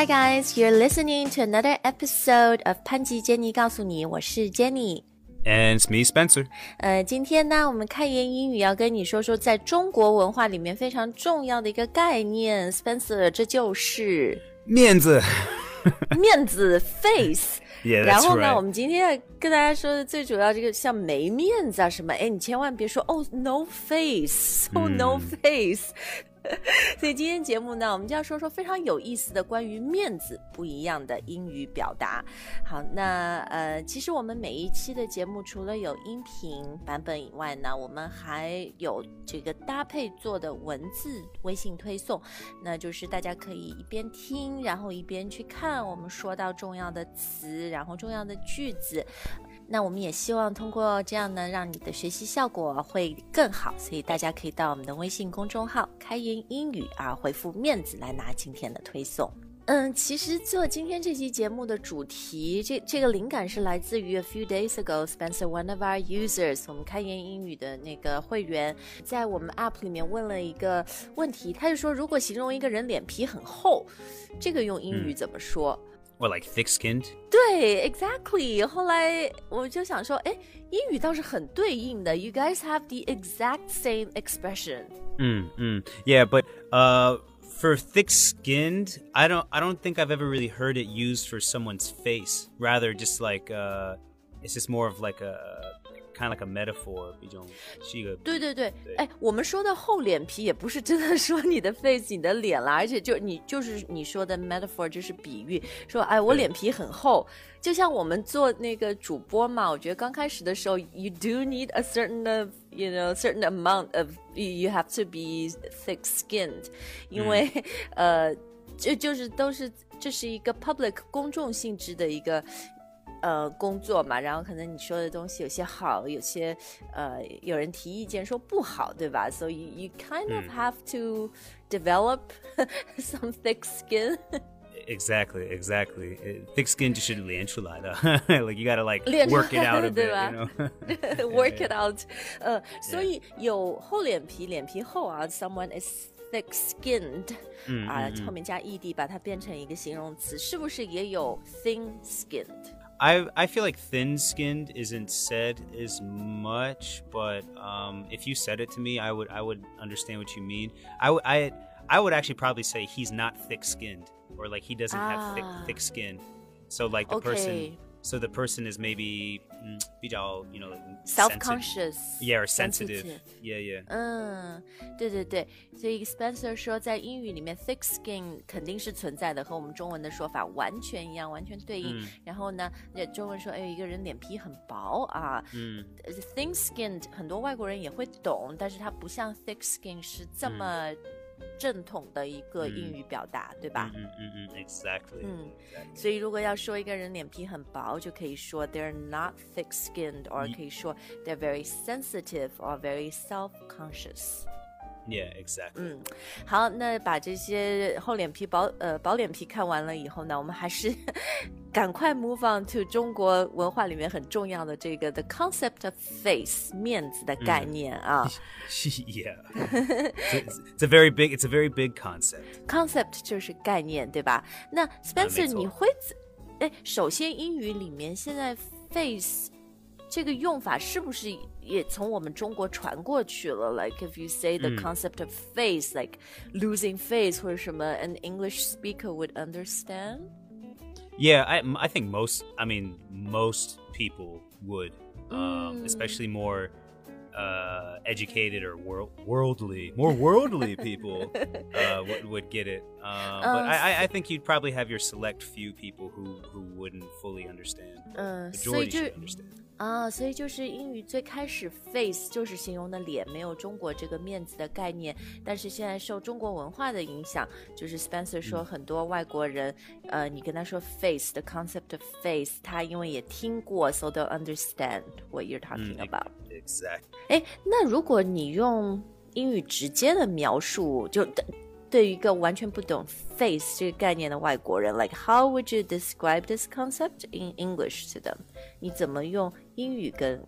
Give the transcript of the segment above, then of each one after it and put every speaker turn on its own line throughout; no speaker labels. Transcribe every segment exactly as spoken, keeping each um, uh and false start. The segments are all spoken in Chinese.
Hi guys, you're listening to another episode of 潘吉 Jenny 告诉你，我是 Jenny。And
it's me, Spencer.
呃，今天呢，我们开言英语要跟你说说，在中国文化里面非常重要的一个概念 ，Spencer， 这就是
面子。
面子 face。
Yeah,
然后呢，
right.
我们今天要跟大家说的最主要这个像没面子啊什么，哎，你千万别说哦 no face, so no face。所以今天节目呢，我们就要说说非常有意思的关于面子不一样的英语表达。好，那呃，其实我们每一期的节目除了有音频版本以外呢，我们还有这个搭配做的文字微信推送，那就是大家可以一边听，然后一边去看我们说到重要的词，然后重要的句子。那我们也希望通过这样呢，让你的学习效果会更好，所以大家可以到我们的微信公众号开言英语啊，回复面子来拿今天的推送。嗯，其实做今天这期节目的主题，这这个灵感是来自于 a few days ago Spencer one of our users， 我们开言英语的那个会员在我们 app 里面问了一个问题，他就说如果形容一个人脸皮很厚，这个用英语怎么说？
嗯What, like thick-skinned?
对 exactly 后来我就想说诶英语倒是很对应的 You guys have the exact same expression
Mm, mm. Yeah, but uh, for thick-skinned, I don't, I don't think I've ever really heard it used for someone's face. Rather, just like, uh, it's just more of like a kind of like a metaphor 一种是一个
对对对哎，我们说的厚脸皮也不是真的说你的 face 你的脸啦，而且就你就是你说的 metaphor 就是比喻，说哎我脸皮很厚，就像我们做那个主播嘛，我觉得刚开始的时候 you do need a certain of you know certain amount of you have to be thick skinned 因为、嗯、呃这就是都是这是一个 public 公众性质的一个呃，工作嘛，然后可能你说的东西有些好，有些呃，有人提意见说不好，对吧？ So you, you kind of have to develop some thick skin.
Exactly, exactly. Thick skin 就是练出来的like you gotta like work it out a bit, you know?
Work it out. 呃，所以有厚脸皮，脸皮厚啊 ，someone is thick-skinned
嗯
啊、
嗯嗯
后面加 ed 把它变成一个形容词，是不是也有 thin-skinned？I
I feel like thin-skinned isn't said as much, but um, if you said it to me, I would I would understand what you mean. I would I I would actually probably say he's not thick-skinned, or like he doesn't have
ah.
thick thick skin. So like the
okay.
person, so the person is maybe 嗯比较 you know like
self-conscious,
yeah, or sensitive.
sensitive.
Yeah, yeah.
嗯，对对对，所以 Spencer 说在英语里面 thick skin 肯定是存在的，和我们中文的说法完全一样，完全对应。嗯、然后呢，中文说哎，一个人脸皮很薄啊，嗯 ，thin skinned 很多外国人也会懂，但是它不像 thick skin 是这么。嗯正统的一个英语表达、嗯、对吧
嗯嗯嗯 exactly
嗯，所以如果要说一个人脸皮很薄就可以说 they're not thick-skinned or 可以说 they're very sensitive or very self-conscious
Yeah, exactly.
嗯，好，那把这些厚脸皮薄呃薄脸皮看完了以后呢，我们还是赶快 move on to 中国文化里面很重要的这个 the concept of face 面子的概念啊。
Yeah, it's, it's a very big, it's a very big concept.
Concept 就是概念，对吧？那 Spencer，、啊、你会哎，首先英语里面现在 face。这个用法是不是也从我们中国传过去了 Like if you say the concept of face、嗯、like losing face 或者什么 an English speaker would understand?
Yeah, I, I think most, I mean, most people would, um, mm. especially more uh, educated or world, worldly, more worldly people uh, would, would get it. Uh, but um, I, I think you'd probably have your select few people who, who wouldn't fully understand.
Uh,
Majority should understand.
啊，所以就是英语最开始 face 就是形容的脸，没有中国这个面子的概念。但是现在受中国文化的影响，就是 Spencer 说很多外国人，嗯、呃，你跟他说 face the concept of face， 他因为也听过 ，so they'll understand what you're talking about、
嗯。Exactly.
哎，那如果你用英语直接的描述，就对于一个完全不懂 face 这个概念的外国人 like how would you describe this concept in English to them 你怎么用英语跟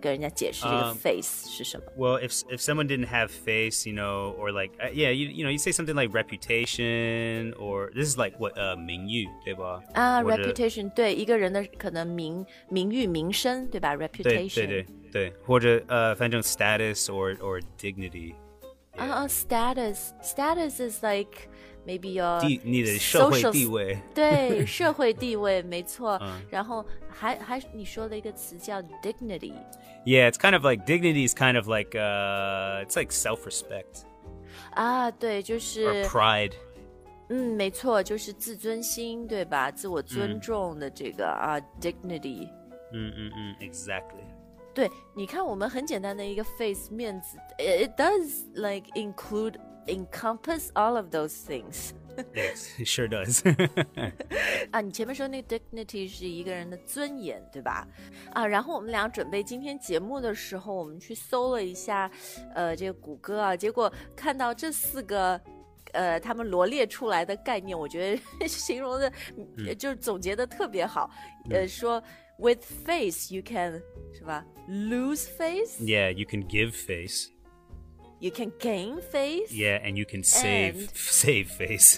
跟人家解释这个 face 是什么。
Um, well, if if someone didn't have face, you know, or like uh, yeah, you you know, you say something like reputation, or this is like what uh 名誉，对吧？
啊 reputation 对一个人的可能名名誉名声，对吧 ？reputation
对对对对，或者呃，反正 status or or dignity。
啊啊 status status is like maybe your
地你的社会地位，
对社会地位没错。
嗯、
然后还还你说的一个词叫 dignity。
Yeah, it's kind of like dignity is kind of like uh, it's like self-respect.
啊，对，就是
or pride.
嗯，没错，就是自尊心，对吧？自我尊重的这个、嗯、啊 dignity。
嗯嗯嗯 ，exactly。
对，你看我们很简单的一个 face 面子 ，it does like include encompass all of those things.
Yes, it sure does.
啊，你前面说那个 dignity 是一个人的尊严，对吧？啊，然后我们俩准备今天节目的时候，我们去搜了一下，呃，这个谷歌啊，结果看到这四个。呃，他们罗列出来的概念，我觉得形容的，嗯、就是总结的特别好。嗯、呃，说 with face you can 是吧 lose face.
Yeah, you can give face.
You can gain face.
Yeah, and you can save
and...
save face.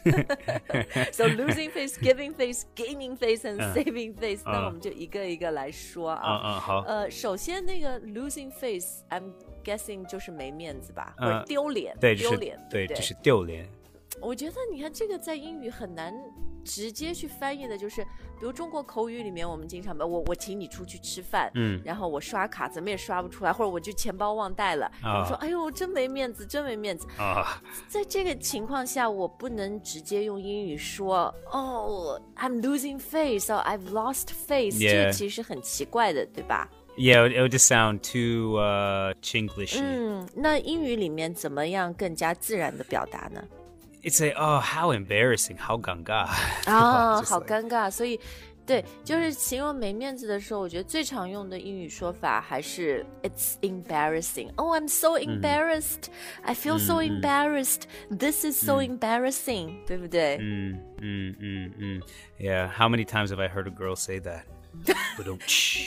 So losing face, giving face, gaining face, and saving face. 那、uh, 我们就一个一个来说啊。
嗯嗯，好。
呃，首先那个 losing face, I'm guessing 就是没面子吧，或者丢脸。
对，
丢脸，
对，就是丢脸。
我觉得你看这个在英语很难直接去翻译的，就是比如中国口语里面我们经常我我请你出去吃饭，嗯，然后我刷卡怎么也刷不出来，或者我就钱包忘带了，我、哦、说哎呦真没面子，真没面子啊、哦！在这个情况下，我不能直接用英语说哦 I'm losing face or I've lost face， 这其实很奇怪的，对吧
？Yeah, it would just sound too uh, Chinglish.
嗯，那英语里面怎么样更加自然的表达呢
？It's a oh how embarrassing， 好尴尬
啊，好尴尬。所以，对，就是形容没面子的时候，我觉得最常用的英语说法还是 It's embarrassing. Oh, I'm so embarrassed. I feel so embarrassed. This is so embarrassing. 对不对？
嗯嗯嗯嗯 Yeah. How many times have I heard a girl say that? 不懂。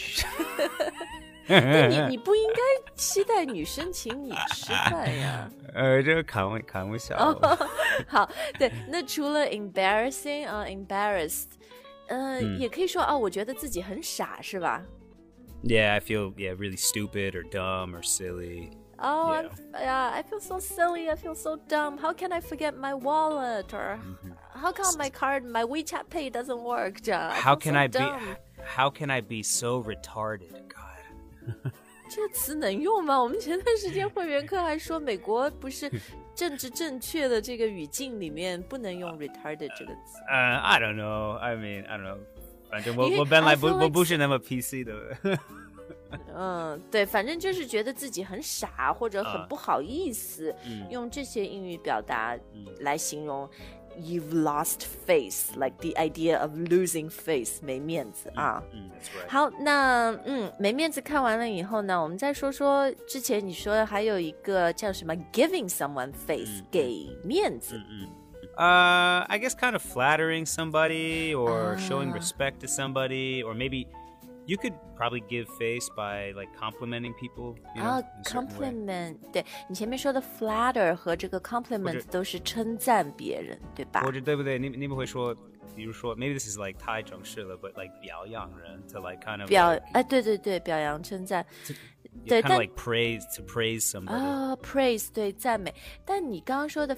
对你，你不应该期待女生请你吃饭呀。
呃，这个开玩开玩笑。
哦，好，对，那除了 embarrassing 啊、uh, ，embarrassed， 呃、嗯，也可以说哦，我觉得自己很傻，是吧
？Yeah, I feel yeah really stupid or dumb or silly.
Oh, yeah. yeah, I feel so silly. I feel so dumb. How can I forget my wallet? Or mm-hmm. how come my card, my WeChat Pay doesn't work?
How can
so
I
dumb.
be? How can I be so retarded? God.
这个词能用吗？我们前段时间会员课还说，美国不是政治正确的这个语境里面不能用 retarded 这个词。
呃、uh, I don't know. I mean, I don't know. 反正我我本来不我不是那么 P C 的。
嗯，对，反正就是觉得自己很傻或者很不好意思，uh, 用这些英语表达来形容。You've lost face, like the idea of losing face, 没面子啊。
嗯 that's right.
好，那嗯，没面子看完了以后呢，我们再说说之前你说的还有一个叫什么 giving someone face，、嗯、给面子。
嗯嗯。Uh, I guess kind of flattering somebody or、uh, showing respect to somebody, or maybe you could probably give face by like complimenting people. You know,
啊、compliment， 对你前面说的 flatter 和这个 compliment 都是称赞别人，对吧？
或者对不对？你你们会说，比如说 maybe this is like 太正式了 ，but like 表扬人 to like kind of
表
like,
哎，对对对，表扬称赞。
对， kind of like praise to praise somebody.
啊、oh, ，praise 对赞美。但你刚刚说的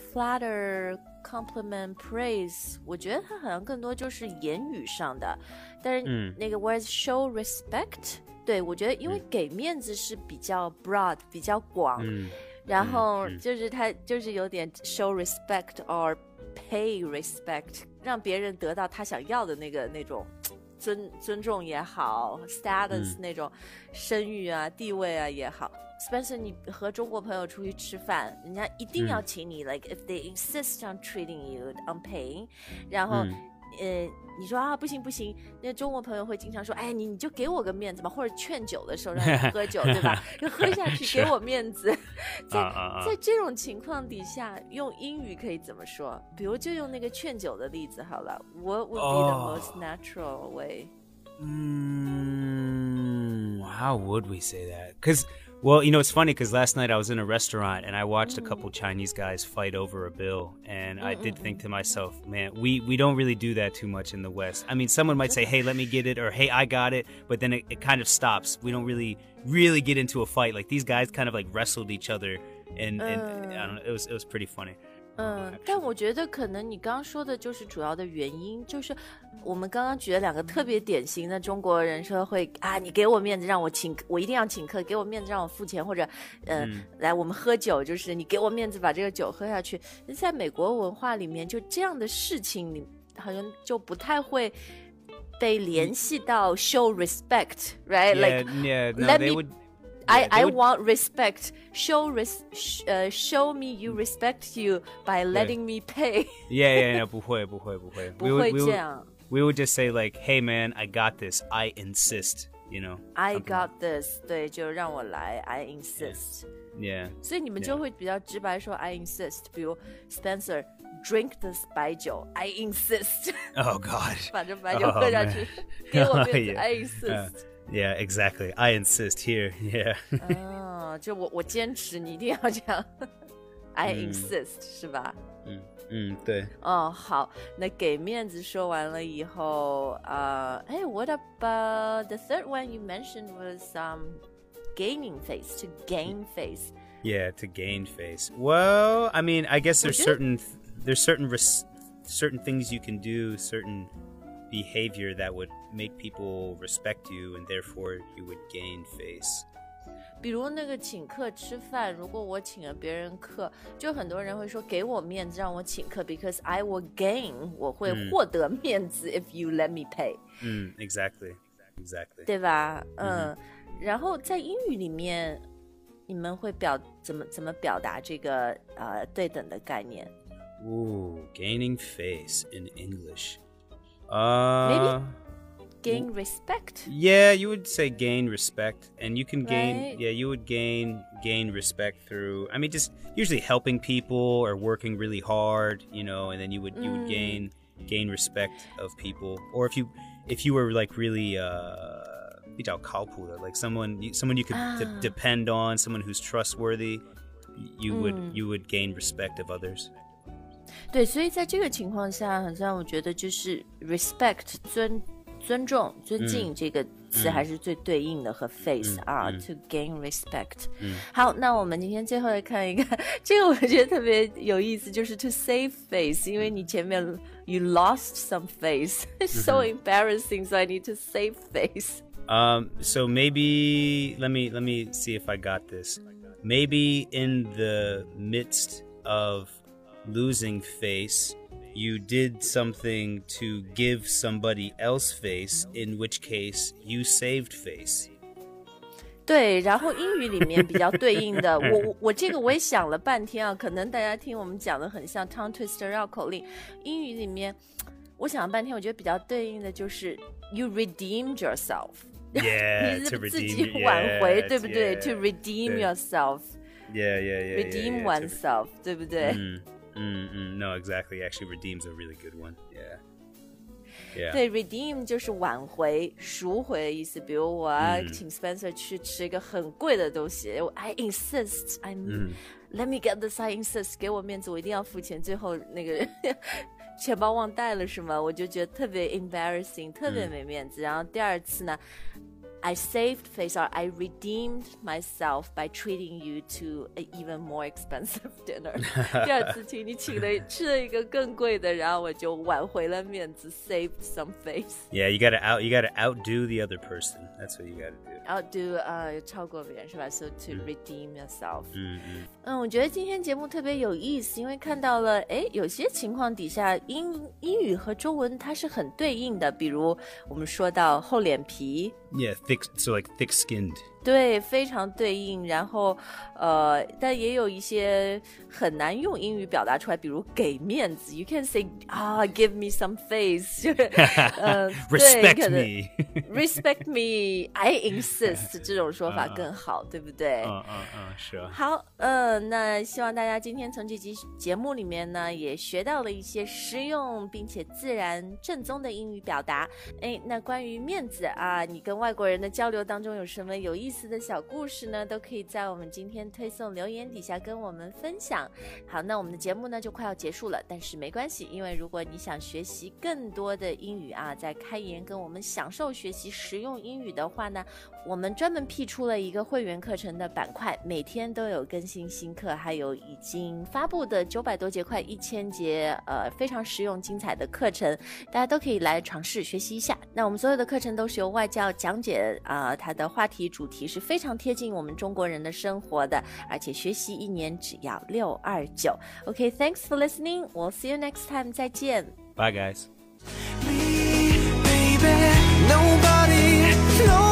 flatter、compliment、praise， 我觉得它好像更多就是言语上的。但是那个 words show respect，、嗯、对我觉得因为给面子是比较 broad， 比较广，嗯、然后就是它就是有点 show respect or pay respect， 让别人得到他想要的那个那种。尊尊重也好 status、嗯、那种声誉啊地位啊也好 Spencer 你和中国朋友出去吃饭人家一定要请你、嗯、like if they insist on treating you on paying 然后、嗯、呃你说啊不行不行那中国朋友会经常说哎你你就给我个面子吧或者劝酒的时候让你喝酒对吧就喝下去给我面子在在这种情况底下用英语可以怎么说比如就用那个劝酒的例子好了 What would be the most natural way
嗯 how would we say that? Because, well, you know, it's funny because last night I was in a restaurant and I watched a couple Chinese guys fight over a bill. And I did think to myself, man, we, we don't really do that too much in the West. I mean, someone might say, hey, let me get it, or hey, I got it. But then it, it kind of stops. We don't really, really get into a fight. Like these guys kind of like wrestled each other. And, and I don't know, it was, it was pretty funny.
嗯，但我觉得可能你刚刚说的就是主要的原因，就是我们刚刚举了两个特别典型的中国人说会啊，你给我面子让我请，我一定要请客，给我面子让我付钱，或者呃，嗯、来我们喝酒，就是你给我面子把这个酒喝下去。在美国文化里面，就这样的事情，你好像就不太会被联系到 show respect，right？
Yeah,
like
yeah, no,
let
they
me.
would.
I,
Yeah,
I
would...
want respect. Show res, sh, uh, show me you respect you by letting me pay.
yeah, yeah, no, 不会不会不会
不会这样
we would, we would just say like, hey man, I got this. I insist, you know.
I got this. 对，就让我来 I insist.
Yeah.
所以你们就会比较直白说 I insist. 比如 Spencer drink this 白酒 I insist.
Oh God.
把这白酒喝下去 给我面子
yeah.
I insist.
Uh,Yeah, exactly. I insist here. Yeah.
哦，就我我坚持你一定要这样 I insist、嗯、是吧？
嗯嗯，对。
哦，好，那给面子说完了以后，呃，哎 ，What about the third one you mentioned was um gaining face, to gain face?
Yeah, to gain face. Well, I mean, I guess there's certain there's certain res- certain things you can do, certain behavior that would make people respect you and therefore you would gain face.
比如那个请客吃饭，如果我请了别人客，就很多人会说给我面子让我请客 because I will gain 我会获得面子、嗯、if you let me pay.
嗯 exactly exactly
对吧？嗯，然后在英语里面你们会表怎么怎么表达这个呃对等的概念？
Ooh, gaining face in English.Uh,
Maybe gain respect.
Yeah, you would say gain respect, and you can gain.
Right?
Yeah, you would gain gain respect through. I mean, just usually helping people or working really hard, you know, and then you would you would
Mm.
gain gain respect of people. Or if you if you were like really uh, 比较靠谱的, like someone someone you could
Ah.
de- depend on, someone who's trustworthy, you would
Mm.
you would gain respect of others.
对，所以在这个情况下，好像我觉得就是 respect 尊尊重尊敬、嗯、这个词还是最对应的和 face、嗯、啊、嗯、，to gain respect、嗯。好，那我们今天最后来看一个，这个我觉得特别有意思，就是 to save face， 因为你前面 you lost some face， so embarrassing， so I need to save face.
Um, so maybe let me let me see if I got this. Maybe in the midst of losing face, you did something to give somebody else face, in which case you saved face.
对，然后英语里面比较对应的，我我我这个我也想了半天啊，可能大家听我们讲的很像 tongue twister 绕口令，英语里面我想了半天，我觉得比较对应的就是 you redeemed yourself.
Yeah,
你
to
自己
redeem,
挽回，
yes,
对不对
yeah,
？To redeem
对
yourself.
Yeah, yeah, yeah.
Redeem
yeah, yeah,
oneself, 对不对？
嗯嗯嗯 No, exactly. Actually, redeem's a really good one. Yeah. Yeah.
对 ，redeem 就是挽回、赎回的意思。比如我要请 Spencer 去吃一个很贵的东西、嗯、，I insist, I'm、嗯、let me get this, I insist， 给我面子，我一定要付钱。最后那个人钱包忘带了是吗？我就觉得特别 embarrassing， 特别没面子。嗯、然后第二次呢 I saved face, or I redeemed myself by treating you to an even more expensive dinner. 第二次请你请了吃了一个更贵的，然后我就挽回了面子 ，saved some face.
Yeah, you gotta out, you gotta outdo the other person. That's what you gotta do.
Outdo 呃超过别人是吧 ？So to、嗯、redeem yourself.
嗯嗯
嗯，我觉得今天节目特别有意思，因为看到了，哎，有些情况底下英英语和中文它是很对应的，比如我们说到厚脸皮。
Yeah, thick. So like thick-skinned.
对，非常对应。然后，呃，但也有一些很难用英语表达出来，比如给面子 ，you can say 啊、ah, ，give me some face， 就是呃
，respect me，respect
me，I insist 这种说法更好， uh, 对不对？
嗯嗯嗯，是啊。
好，呃，那希望大家今天从这集节目里面呢，也学到了一些实用并且自然正宗的英语表达。哎，那关于面子啊，你跟外国人的交流当中有什么有意思的小故事呢？都可以在我们今天推送留言底下跟我们分享。好，那我们的节目呢就快要结束了，但是没关系，因为如果你想学习更多的英语啊，在开言跟我们享受学习实用英语的话呢，我们专门辟出了一个会员课程的板块，每天都有更新新课，还有已经发布的九百多节快一千节呃非常实用精彩的课程，大家都可以来尝试学习一下。那我们所有的课程都是由外教讲解啊、呃，它的话题主题是非常贴近我们中国人的生活的，而且学习一年只要六二九。OK, thanks for listening. We'll see you next time. 再见。
Bye, guys.
Me, baby, nobody, nobody